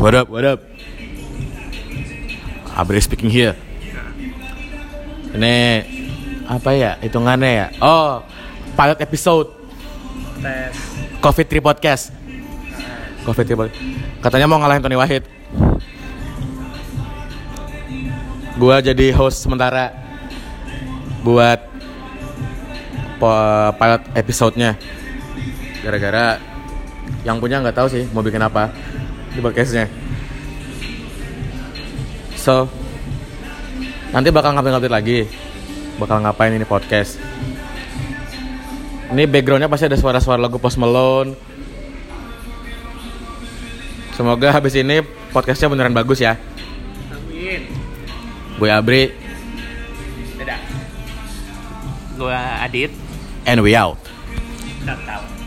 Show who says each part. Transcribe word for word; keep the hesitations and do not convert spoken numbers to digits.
Speaker 1: What up, what up? Abri speaking here. Ini apa ya hitungannya ya? Oh, pilot episode
Speaker 2: Tes
Speaker 1: Covid Tree Podcast. Covid Tree Podcast. Katanya mau ngalahin Tony Wahid. Gua jadi host sementara buat po- pilot episode-nya. Gara-gara yang punya nggak tahu sih mau bikin apa di podcastnya. So nanti bakal ngapain-ngapain lagi. Bakal ngapain ini podcast. Ini backgroundnya pasti ada suara-suara lagu Post Malone. Semoga habis ini podcastnya beneran bagus ya.
Speaker 2: Amin.
Speaker 1: Gue Abri.
Speaker 2: Dadah. Gua Adit.
Speaker 1: And we out.
Speaker 2: Nggak tahu.